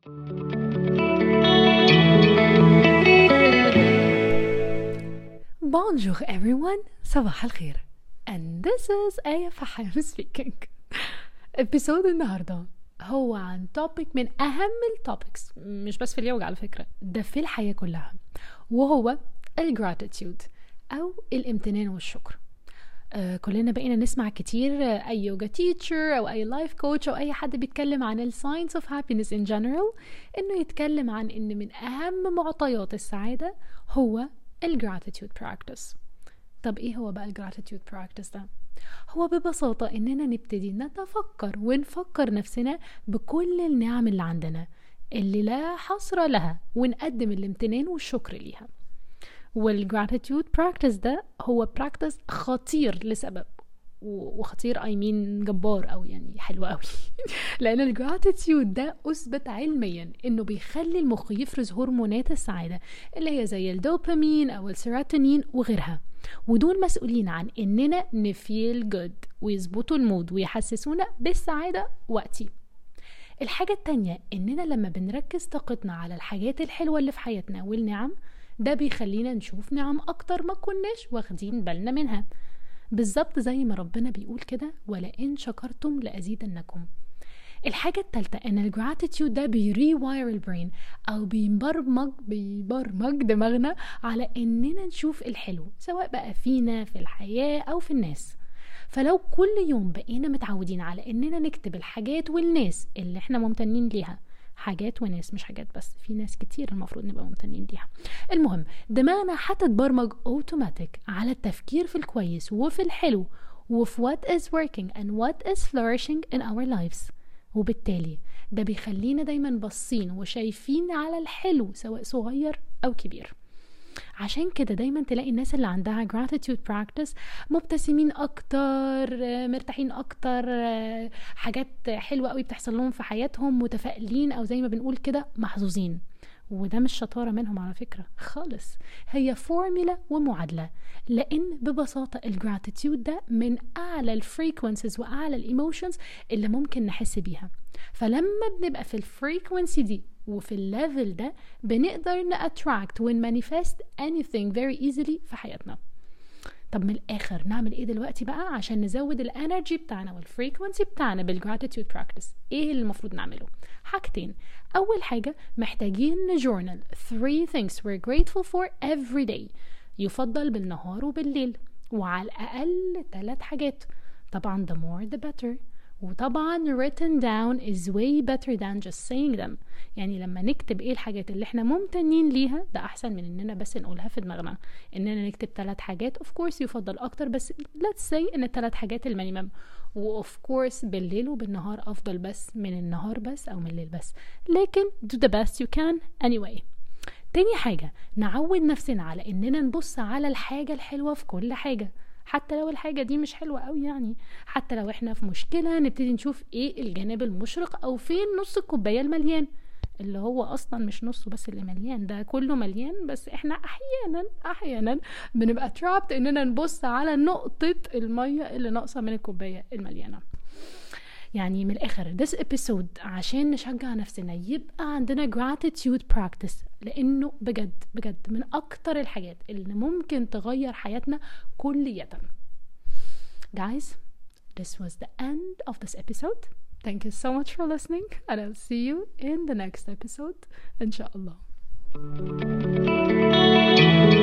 Bonjour everyone, صباح الخير. And this is Aya Fahim speaking. episode النهاردة هو عن topic من أهم التوبكس، مش بس في اليوجا على فكرة، ده في الحياة كلها، وهو الجراتيتيود أو الامتنان والشكر. كلنا بقينا نسمع كتير أي يوجا تيتشر أو أي لايف كوتش أو أي حد بيتكلم عن ال science of happiness in general، إنه يتكلم عن إن من أهم معطيات السعادة هو الجراتيتيود براكتس. طب إيه هو بقى الجراتيتيود براكتس ده؟ هو ببساطة إننا نبتدي نتفكر ونفكر نفسنا بكل النعم اللي عندنا اللي لا حصر لها، ونقدم الامتنان والشكر ليها. والجراتيتيود براكتس ده هو براكتس خطير لسبب، وخطير جبار أو يعني حلو قوي لأن الجراتيتيود ده أثبت علميا إنه بيخلي المخ يفرز هرمونات السعادة اللي هي زي الدوبامين أو السيروتونين وغيرها، ودول مسؤولين عن إننا نفيل جود ويظبطوا المود ويحسسونا بالسعادة وقتي. الحاجة التانية إننا لما بنركز طاقتنا على الحاجات الحلوة اللي في حياتنا والنعم، ده بيخلينا نشوف نعم أكتر ما كناش واخدين بالنا منها، بالظبط زي ما ربنا بيقول كده ولئن شكرتم لأزيدنكم. الحاجة التالتة ان الجراتيتيود ده بيريواير البرين او بيبرمج دماغنا على اننا نشوف الحلو سواء بقى فينا في الحياة او في الناس. فلو كل يوم بقينا متعودين على اننا نكتب الحاجات والناس اللي احنا ممتنين ليها، حاجات وناس مش حاجات بس، في ناس كتير المفروض نبقى ممتنين ليها، المهم دماغنا هتتبرمج اوتوماتيك على التفكير في الكويس وفي الحلو وفي what is working and what is flourishing in our lives. وبالتالي ده بيخلينا دايما باصين وشايفين على الحلو سواء صغير أو كبير. عشان كده دايما تلاقي الناس اللي عندها gratitude practice مبتسمين أكتر، مرتاحين أكتر، حاجات حلوة قوي بتحصل لهم في حياتهم، متفائلين أو زي ما بنقول كده محظوظين. وده مش شطارة منهم على فكرة خالص، هي فورميلا ومعادلة، لأن ببساطة الجراتيتيود ده من أعلى الفريكونسيز وأعلى الإيموشنز اللي ممكن نحس بيها. فلما بنبقى في الفريكونسي دي وفي الليفل ده بنقدر نأتراكت ونمانيفست anything very easily في حياتنا. طب من الآخر نعمل ايه دلوقتي بقى عشان نزود الانرجي بتاعنا والفريكونسي بتاعنا بالجراتيتيود براكتس؟ ايه اللي المفروض نعمله؟ حاجتين. اول حاجة محتاجين نجورنال 3 things we're grateful for every day، يفضل بالنهار وبالليل، وعلى الاقل 3 حاجات. طبعا the more the better، وطبعا written down is way better than just saying them. يعني لما نكتب ايه الحاجات اللي احنا ممتنين ليها ده احسن من اننا بس نقولها في دماغنا. اننا نكتب 3 حاجات of course يفضل اكتر، بس let's say ان 3 حاجات المينيمم، و of course بالليل وبالنهار افضل بس من النهار بس او من الليل بس، لكن do the best you can anyway. تاني حاجة نعود نفسنا على اننا نبص على الحاجة الحلوة في كل حاجة، حتى لو الحاجة دي مش حلوة قوي، يعني حتى لو احنا في مشكلة نبتدي نشوف ايه الجانب المشرق او فين نص الكوباية المليان، اللي هو اصلا مش نصه بس اللي مليان، ده كله مليان، بس احنا احيانا بنبقى trapped اننا نبص على نقطة المية اللي ناقصة من الكوباية المليانة. يعني من الآخر this episode عشان نشجع نفسنا يبقى عندنا gratitude practice، لأنه بجد بجد من أكتر الحاجات اللي ممكن تغير حياتنا كلية. Guys, this was the end of this episode. Thank you so much for listening, and I'll see you in the next episode إن شاء الله.